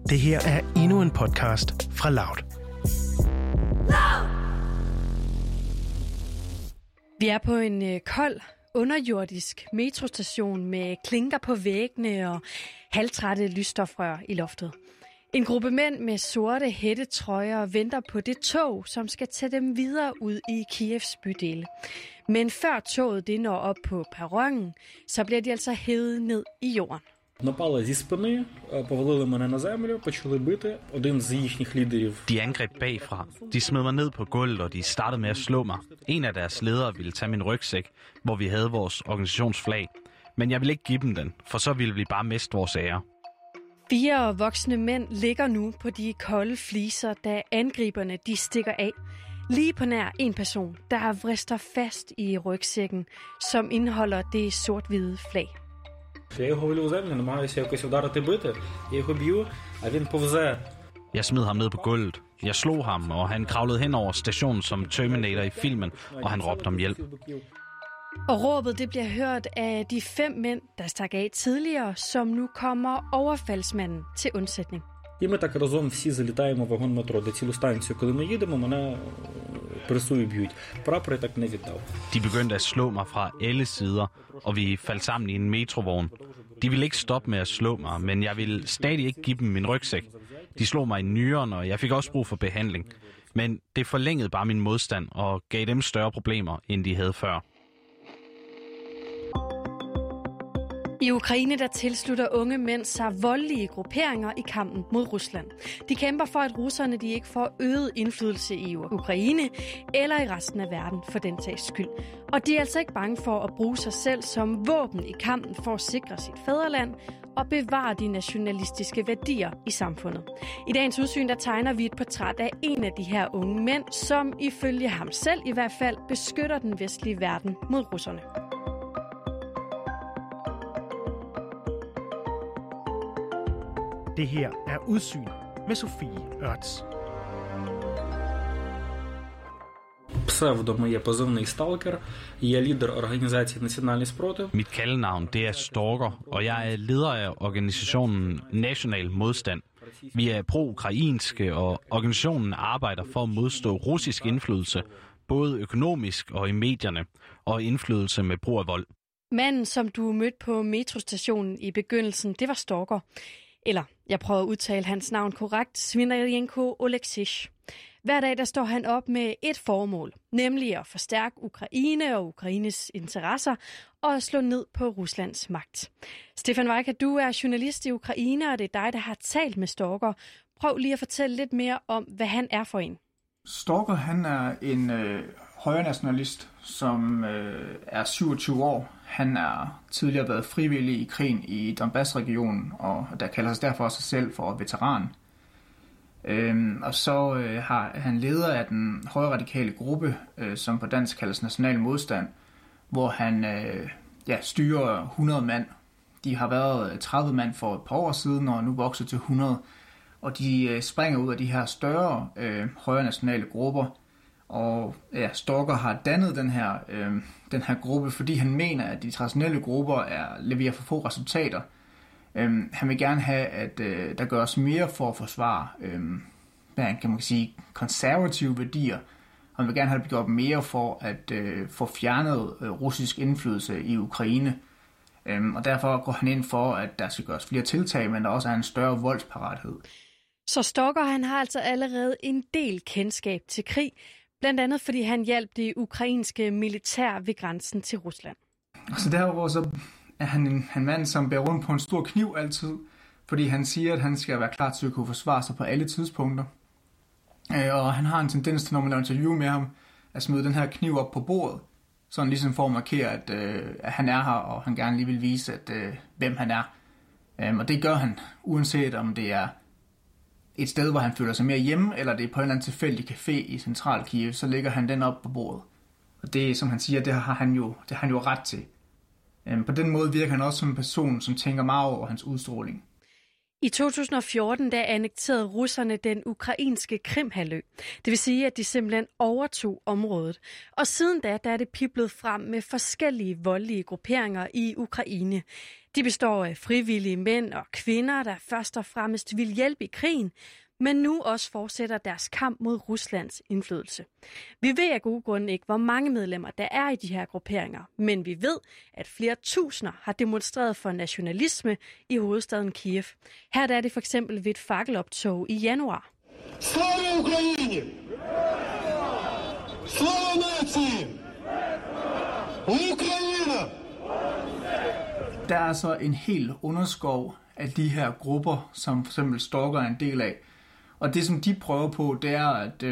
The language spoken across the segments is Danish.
Det her er endnu en podcast fra Loud. Vi er på en kold, underjordisk metrostation med klinker på væggene og halvtrætte lysstofrør i loftet. En gruppe mænd med sorte hættetrøjer venter på det tog, som skal tage dem videre ud i Kievs bydele. Men før toget det når op på perronen, så bliver de altså hævet ned i jorden. Напали зі спини, повалили мене на землю, почали бити. Один з їхніх лідерів. De angreb bagfra. De smed mig ned på gulvet, og de startede med at slå mig. En af deres ledere ville tage min rygsæk, hvor vi havde vores organisationsflag. Men jeg ville ikke give dem den, for så ville vi bare miste vores ære. 4 voksne mænd ligger nu på de kolde fliser, da angriberne de stikker af. Lige på nær en person, der vrister fast i rygsækken, som indeholder det sort-hvide flag. Я його валю в землю, намагаюся якось вдарити бити. Я його б'ю, а він повзе. Jeg smed ham ned på gulvet. Jeg slog ham, og han kravlede hen over stationen som Terminator i filmen, og han råbte om hjælp. Og råbet det bliver hørt af de 5 mænd, der stak af tidligere, som nu kommer overfaldsmanden til undsætning. І ми так разом всі залітаємо в вагон метро, де цілу станцію, коли ми їдемо, мене пресую б'ють. Прапор я так не віддав. De begyndte at slå mig fra alle sider, og vi faldt sammen i en metrovogn. De ville ikke stoppe med at slå mig, men jeg ville stadig ikke give dem min rygsæk. De slog mig i nyren, og jeg fik også brug for behandling. Men det forlængede bare min modstand og gav dem større problemer, end de havde før. I Ukraine der tilslutter unge mænd sig voldelige grupperinger i kampen mod Rusland. De kæmper for, at russerne de ikke får øget indflydelse i Ukraine eller i resten af verden for den sags skyld. Og de er altså ikke bange for at bruge sig selv som våben i kampen for at sikre sit fædreland og bevare de nationalistiske værdier i samfundet. I dagens udsyn der tegner vi et portræt af en af de her unge mænd, som ifølge ham selv i hvert fald beskytter den vestlige verden mod russerne. Det her er Udsyn med Sofie Ørts. Псевдо моє позивний «Сталкер». Я лідер організації «Національний спротив». Mit kaldenavn det er Stalker, og jeg er leder af organisationen National Modstand. Vi er pro-ukrainske, og organisationen arbejder for at modstå russisk indflydelse, både økonomisk og i medierne, og indflydelse med brug af vold. Manden, som du mødte på metrostationen i begyndelsen, det var Stalker. Eller, jeg prøver at udtale hans navn korrekt, Svinarienko Oleksich. Hver dag der står han op med et formål, nemlig at forstærke Ukraine og Ukraines interesser og at slå ned på Ruslands magt. Stefan Vajka, du er journalist i Ukraine, og det er dig, der har talt med Stalker. Prøv lige at fortælle lidt mere om, hvad han er for en. Stalker, han er en højrenationalist, som er 27 år. Han er tidligere været frivillig i krigen i Donbass-regionen, og der kalder sig derfor sig selv for veteran. Og så har han leder af den højradikale gruppe, som på dansk kaldes National Modstand, hvor han styrer 100 mand. De har været 30 mand for et par år siden, og nu vokset til 100. Og de springer ud af de her større højrenationale grupper. Og Stalker har dannet den her gruppe, fordi han mener, at de traditionelle grupper leverer for få resultater. Han vil gerne have, at der gøres mere for at forsvare konservative værdier. Han vil gerne have gjort mere for at få fjernet russisk indflydelse i Ukraine. Og derfor går han ind for, at der skal gøres flere tiltag, men der også er en større voldsparathed. Så Stalker han har altså allerede en del kendskab til krig, blandt andet fordi han hjalp det ukrainske militær ved grænsen til Rusland. Så derudover så er han en mand, som bærer rundt på en stor kniv altid, fordi han siger, at han skal være klar til at kunne forsvare sig på alle tidspunkter. Og han har en tendens til, når man laver interview med ham, at smide den her kniv op på bordet, sådan ligesom for at markere, at han er her, og han gerne lige vil vise, hvem han er. Og det gør han, uanset om det er et sted, hvor han føler sig mere hjemme, eller det er på en eller anden tilfældig café i central Kiev, så lægger han den op på bordet. Og det, som han siger, det har han jo ret til. På den måde virker han også som en person, som tænker meget over hans udstråling. I 2014 annekterede russerne den ukrainske Krimhalvø. Det vil sige, at de simpelthen overtog området. Og siden da er det piblet frem med forskellige voldelige grupperinger i Ukraine. De består af frivillige mænd og kvinder, der først og fremmest vil hjælpe i krigen, men nu også fortsætter deres kamp mod Ruslands indflydelse. Vi ved af gode grunde ikke, hvor mange medlemmer der er i de her grupperinger, men vi ved, at flere tusinder har demonstreret for nationalisme i hovedstaden Kiev. Her er det for eksempel ved et fakkeloptog i januar. Slava Ukraine! Slava nazi! Ukraine! Der er altså en hel underskov af de her grupper, som for eksempel Stalker er en del af. Og det, som de prøver på, det er, at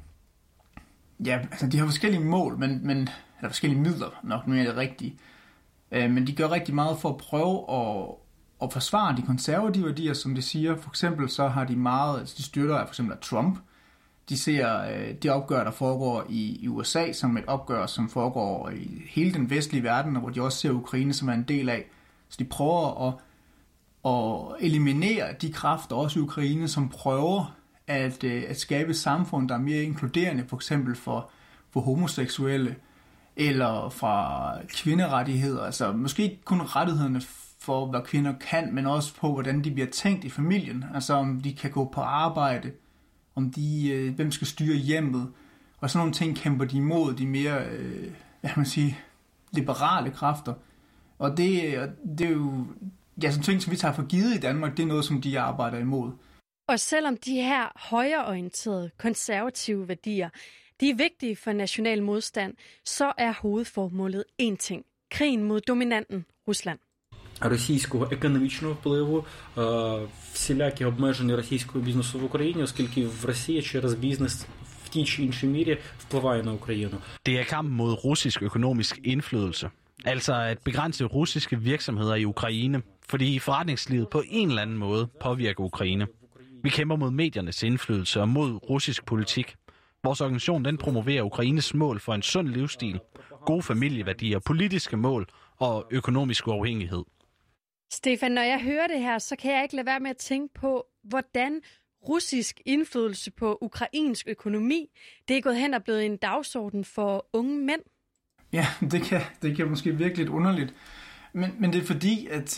de har forskellige mål, eller forskellige midler, nok mere det rigtige. Men de gør rigtig meget for at prøve at forsvare de konservative værdier, som de siger. For eksempel så har de støtter af for eksempel Trump. De ser det opgør, der foregår i USA, som et opgør, som foregår i hele den vestlige verden, og hvor de også ser Ukraine som er en del af. Så de prøver at eliminere de kræfter, også i Ukraine, som prøver at skabe et samfund, der er mere inkluderende, for eksempel for homoseksuelle, eller fra kvinderettigheder. Altså måske ikke kun rettighederne for, hvad kvinder kan, men også på, hvordan de bliver tænkt i familien. Altså om de kan gå på arbejde, om hvem skal styre hjemmet, og sådan nogle ting kæmper de imod de mere, liberale kræfter. Og det er jo sådan ting, som vi tager for givet i Danmark, det er noget, som de arbejder imod. Og selvom de her højreorienterede, konservative værdier, de er vigtige for national modstand, så er hovedformålet én ting: krigen mod dominanten Rusland. Російського економічного впливу, всілякі обмеження російського бізнесу в Україні, оскільки в Росії через бізнес в тій чи іншій мірі впливає на Україну. Det er kampen mod russisk økonomisk indflydelse. Altså at begrænse russiske virksomheder i Ukraine, fordi forretningslivet på en eller anden måde påvirker Ukraine. Vi kæmper mod mediernes indflydelse og mod russisk politik. Vores organisation den promoverer Ukraines mål for en sund livsstil, gode familieværdier, politiske mål og økonomisk uafhængighed. Stefan, når jeg hører det her, så kan jeg ikke lade være med at tænke på, hvordan russisk indflydelse på ukrainsk økonomi, det er gået hen og blevet en dagsorden for unge mænd. Ja, det kan måske virke lidt underligt. Men det er fordi, at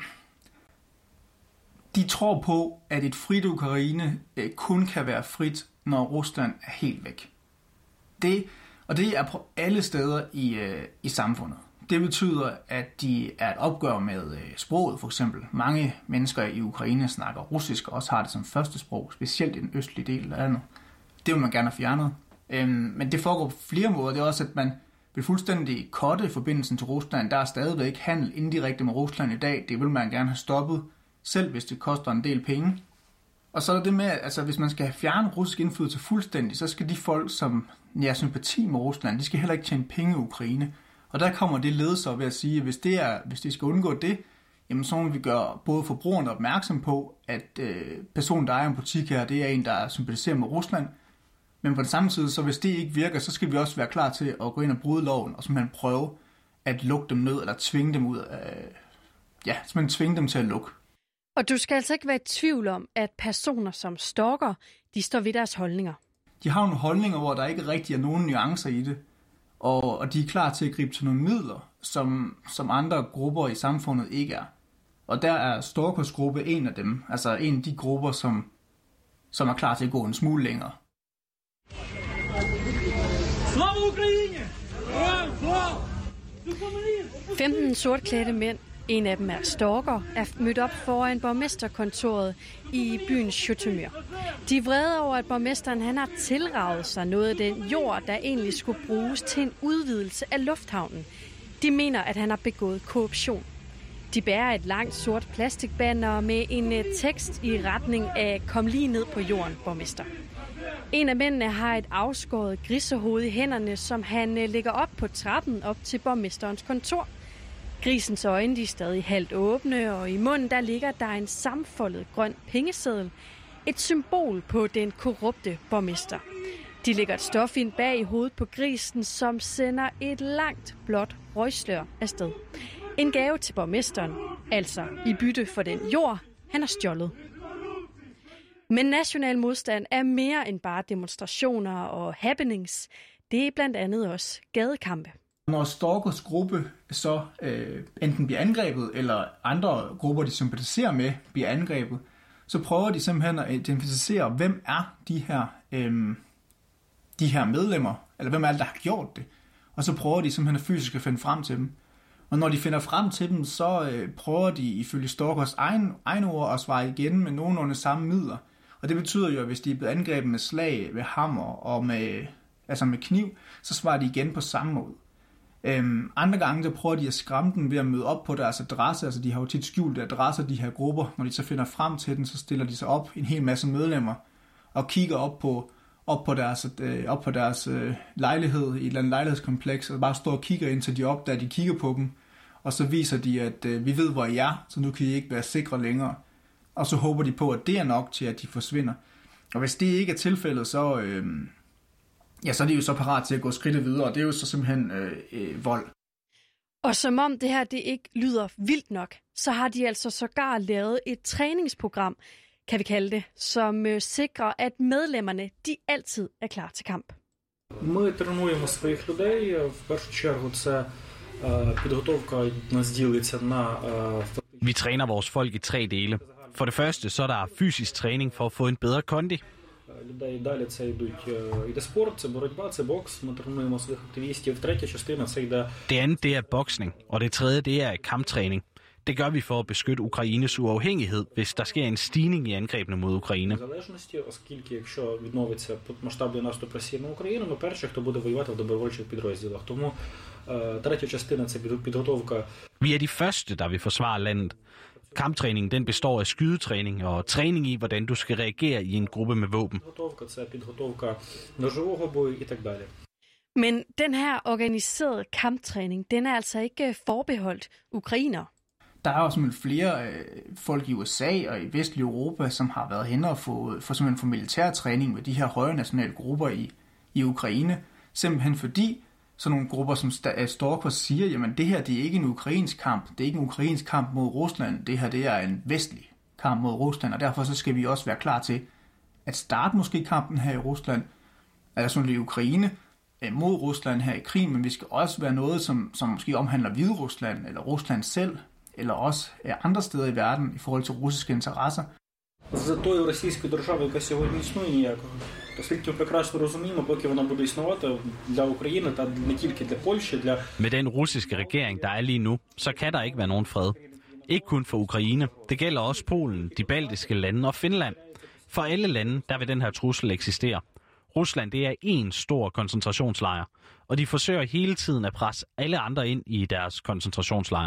de tror på, at et frit Ukraine kun kan være frit, når Rusland er helt væk. Det er på alle steder i samfundet. Det betyder, at de er et opgør med sproget, for eksempel. Mange mennesker i Ukraine snakker russisk, og også har det som første sprog, specielt i den østlige del af landet. Det vil man gerne have fjernet. Men det foregår på flere måder. Det er også, at man vil fuldstændig cutte forbindelsen til Rusland. Der er stadigvæk handel indirekte med Rusland i dag. Det vil man gerne have stoppet, selv hvis det koster en del penge. Og så er det med, altså hvis man skal fjerne russisk indflydelse fuldstændig, så skal de folk, som har sympati med Rusland, de skal heller ikke tjene penge i Ukraine. Og der kommer det led så ved at sige, at hvis de skal undgå det, jamen så må vi gøre både forbrugerne opmærksom på, at personen, der ejer en butik her, det er en, der sympatiserer med Rusland. Men på den samme side, så hvis det ikke virker, så skal vi også være klar til at gå ind og bryde loven, og simpelthen prøve at lukke dem ned, eller tvinge dem ud af, simpelthen tvinge dem til at lukke. Og du skal altså ikke være i tvivl om, at personer som Stalker, de står ved deres holdninger. De har nogle holdninger, hvor der ikke rigtig er nogen nuancer i det, og de er klar til at gribe til nogle midler, som andre grupper i samfundet ikke er. Og der er Stalkers gruppe en af dem, altså en af de grupper, som er klar til at gå en smule længere. Slava Ukraine! 15 sortklædte mænd, en af dem er Stalker, er mødt op foran borgmesterkontoret i byen Zhytomyr. De er vrede over, at borgmesteren han har tilraget sig noget af den jord, der egentlig skulle bruges til en udvidelse af lufthavnen. De mener, at han har begået korruption. De bærer et langt sort plastikbanner med en tekst i retning af "Kom lige ned på jorden, borgmester". En af mændene har et afskåret grisehoved i hænderne, som han lægger op på trappen op til borgmesterens kontor. Grisens øjne de er stadig halvt åbne, og i munden der ligger der en sammenfoldet grøn pengeseddel. Et symbol på den korrupte borgmester. De lægger et stof ind bag i hovedet på grisen, som sender et langt blåt røgslør afsted. En gave til borgmesteren, altså i bytte for den jord, han har stjålet. Men national modstand er mere end bare demonstrationer og happenings. Det er blandt andet også gadekampe. Når Stalkers gruppe så enten bliver angrebet, eller andre grupper, de sympatiserer med, bliver angrebet, så prøver de simpelthen at identificere, hvem er de her medlemmer, eller hvem er det, der har gjort det. Og så prøver de simpelthen at fysisk at finde frem til dem. Og når de finder frem til dem, så prøver de ifølge Stalkers egen ord at svare igen med nogenlunde samme midler. Og det betyder jo, at hvis de er blevet angrebet med slag, med hammer og med kniv, så svarer de igen på samme måde. Andre gange, der prøver de at skræmme dem ved at møde op på deres adresse. Altså de har jo tit skjulte adresser, de her grupper. Når de så finder frem til den, så stiller de sig op, en hel masse medlemmer, og kigger op på deres lejlighed i et eller andet lejlighedskompleks, og bare står og kigger indtil de opdager, de kigger på dem. Og så viser de, at vi ved, hvor I er, så nu kan I ikke være sikre længere. Og så håber de på, at det er nok til, at de forsvinder. Og hvis det ikke er tilfældet, så er de jo så parat til at gå skridtet videre, og det er jo så simpelthen vold. Og som om det her det ikke lyder vildt nok, så har de altså sågar lavet et træningsprogram, kan vi kalde det, som sikrer, at medlemmerne de altid er klar til kamp. Ми тренуємо своїх людей. В першу чергу це підготовка нас ділиться на Vi træner vores folk i 3 dele. For det første, så er der fysisk træning for at få en bedre kondi. людей. Далі це йде спорт, це боротьба, це бокс. Ми тренуємо своїх активістів. Третя частина це йде... Det andet, det er boksning, og det tredje, det er kamptræning. Det gør vi for at beskytte Ukraines uafhængighed, hvis der sker en stigning i angrebene mod Ukraine. Залежності, оскільки якщо відновиться масштабний наступ Росії на Україну, ми перші, хто буде воювати в добровольчих підрозділах. Тому третя частина це підготовка. Vi er de første, der vil forsvare landet. Kamptræningen den består af skydetræning og træning i, hvordan du skal reagere i en gruppe med våben. Підготовка ножового бою і так далі. Men den her organiserede kamptræning, den er altså ikke forbeholdt ukrainer. Der er også flere folk i USA og i vestlig Europa, som har været hen og få militær træning med de her højre nationale grupper i Ukraine. Simpelthen fordi sådan nogle grupper som Stalkers siger, jamen det her det er ikke en ukrainsk kamp, det er ikke en ukrainsk kamp mod Rusland, det her det er en vestlig kamp mod Rusland, og derfor så skal vi også være klar til at starte måske kampen her i Rusland, altså i Ukraine, mod Rusland her i krig, men vi skal også være noget, som måske omhandler Hviderusland eller Rusland selv, eller også andre steder i verden i forhold til russiske interesser. За тою російською державою, яка сьогодні існує, ніякого. Оскільки ми прекрасно розуміємо, поки вона буде існувати для України та не тільки для Польщі, для... Med den russiske regering, der er lige nu, så kan der ikke være nogen fred. Ikke kun for Ukraine. Det gælder også Polen, de baltiske lande og Finland. For alle lande, der vil den her trussel eksistere. Rusland, det er en stor koncentrationslejr, og de forsøger hele tiden at presse alle andre ind i deres koncentrationslejre.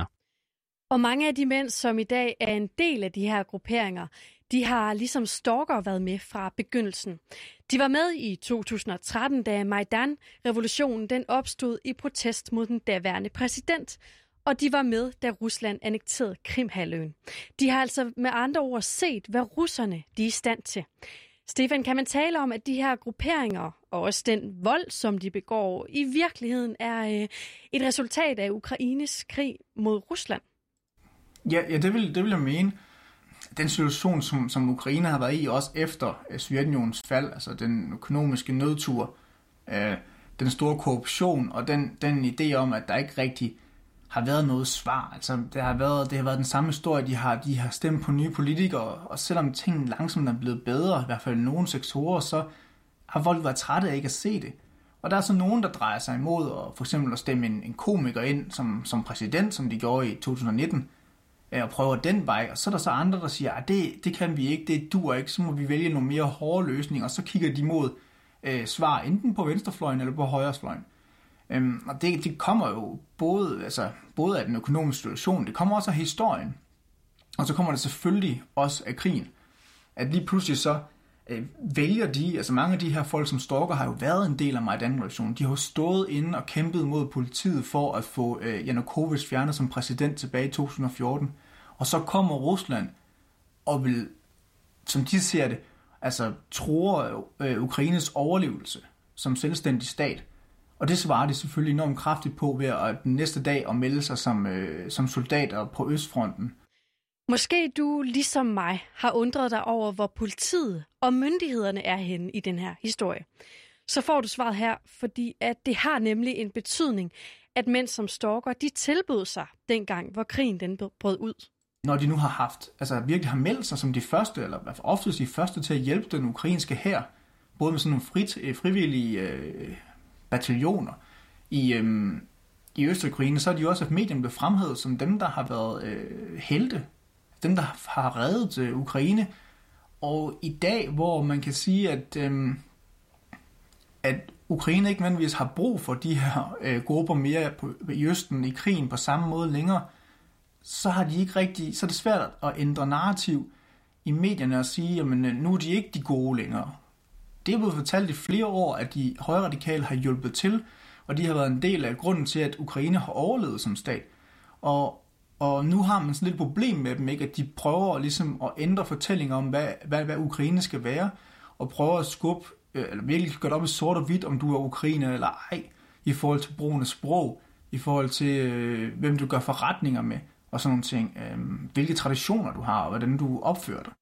Og mange af de mænd, som i dag er en del af de her grupperinger, de har ligesom Stalker været med fra begyndelsen. De var med i 2013, da Majdan-revolutionen den opstod i protest mod den daværende præsident, og de var med, da Rusland annekterede Krimhalvøen. De har altså med andre ord set, hvad russerne de er i stand til. Stefan, kan man tale om, at de her grupperinger og også den vold, som de begår, i virkeligheden er et resultat af Ukraines krig mod Rusland? Ja, det vil jeg mene. Den situation, som Ukraine har været i, også efter Sovjetunionens fald, altså den økonomiske nødtur, den store korruption og den idé om, at der ikke rigtig har været noget svar. Altså, det har været den samme historie, de har stemt på nye politikere, og selvom tingene langsomt er blevet bedre, i hvert fald i nogle sektorer, så har folk været trætte af ikke at se det. Og der er så nogen, der drejer sig imod og for eksempel at stemme en komiker ind som præsident, som de gjorde i 2019, og prøver den vej, og så er der så andre, der siger, at det kan vi ikke, det duer ikke, så må vi vælge nogle mere hårde løsninger, og så kigger de mod svar enten på venstrefløjen eller på højrefløjen. Og det kommer jo både af den økonomiske situation, det kommer også af historien, og så kommer det selvfølgelig også af krigen. At lige pludselig så vælger de, altså mange af de her folk som Stalker har jo været en del af Majdan-revolutionen. De har jo stået inde og kæmpet mod politiet for at få Janukovych fjernet som præsident tilbage i 2014. Og så kommer Rusland og vil, som de ser det, altså truer Ukraines overlevelse som selvstændig stat. Og det svarer de selvfølgelig enormt kraftigt på ved at den næste dag at melde sig som soldater på Østfronten. Måske du, ligesom mig, har undret dig over, hvor politiet og myndighederne er henne i den her historie. Så får du svaret her, fordi at det har nemlig en betydning, at mænd som stalker, de tilbød sig dengang, hvor krigen den brød ud. Når de nu har haft, altså virkelig har meldt sig som de første, eller i hvert fald oftest de første til at hjælpe den ukrainske hær, både med sådan nogle frivillige bataljoner i Øst-Ukraine, så er de jo også af medierne blevet fremhævet som dem, der har været helte, dem, der har reddet Ukraine. Og i dag, hvor man kan sige, at Ukraine ikke nødvendigvis har brug for de her grupper mere i Østen i krigen på samme måde længere, så har de ikke rigtig, så er det svært at ændre narrativ i medierne og sige, jamen nu er de ikke de gode længere. Det er blevet fortalt i flere år, at de højradikale har hjulpet til, og de har været en del af grunden til, at Ukraine har overlevet som stat. Og nu har man sådan lidt problem med dem, ikke? At de prøver ligesom at ændre fortællinger om, hvad Ukraine skal være, og prøver at skubbe, eller virkelig gøre det op i sort og hvidt, om du er ukrainer eller ej, i forhold til brugen af sprog, i forhold til, hvem du gør forretninger med, og sådan nogle ting. Hvilke traditioner du har, og hvordan du opfører dig.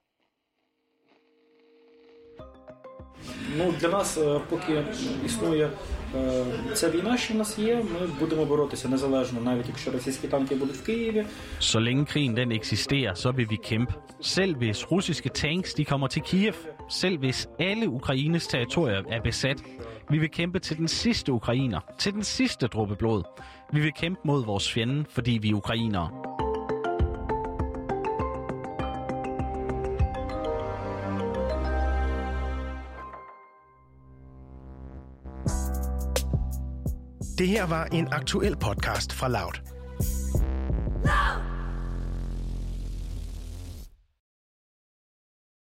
Ну, для нас, поки існує ця війна, що в нас є, ми будемо боротися незалежно, навіть якщо російські танки будуть в Києві. Så længe krigen den eksisterer, så vil vi kæmpe. Selv hvis russiske tanks de kommer til Kiev, selv hvis alle Ukraines territorier er besat, vi vil kæmpe til den sidste ukrainer, til den sidste dråbe blod. Vi vil kæmpe mod vores fjende, fordi vi er ukrainere. Det her var en aktuel podcast fra Loud.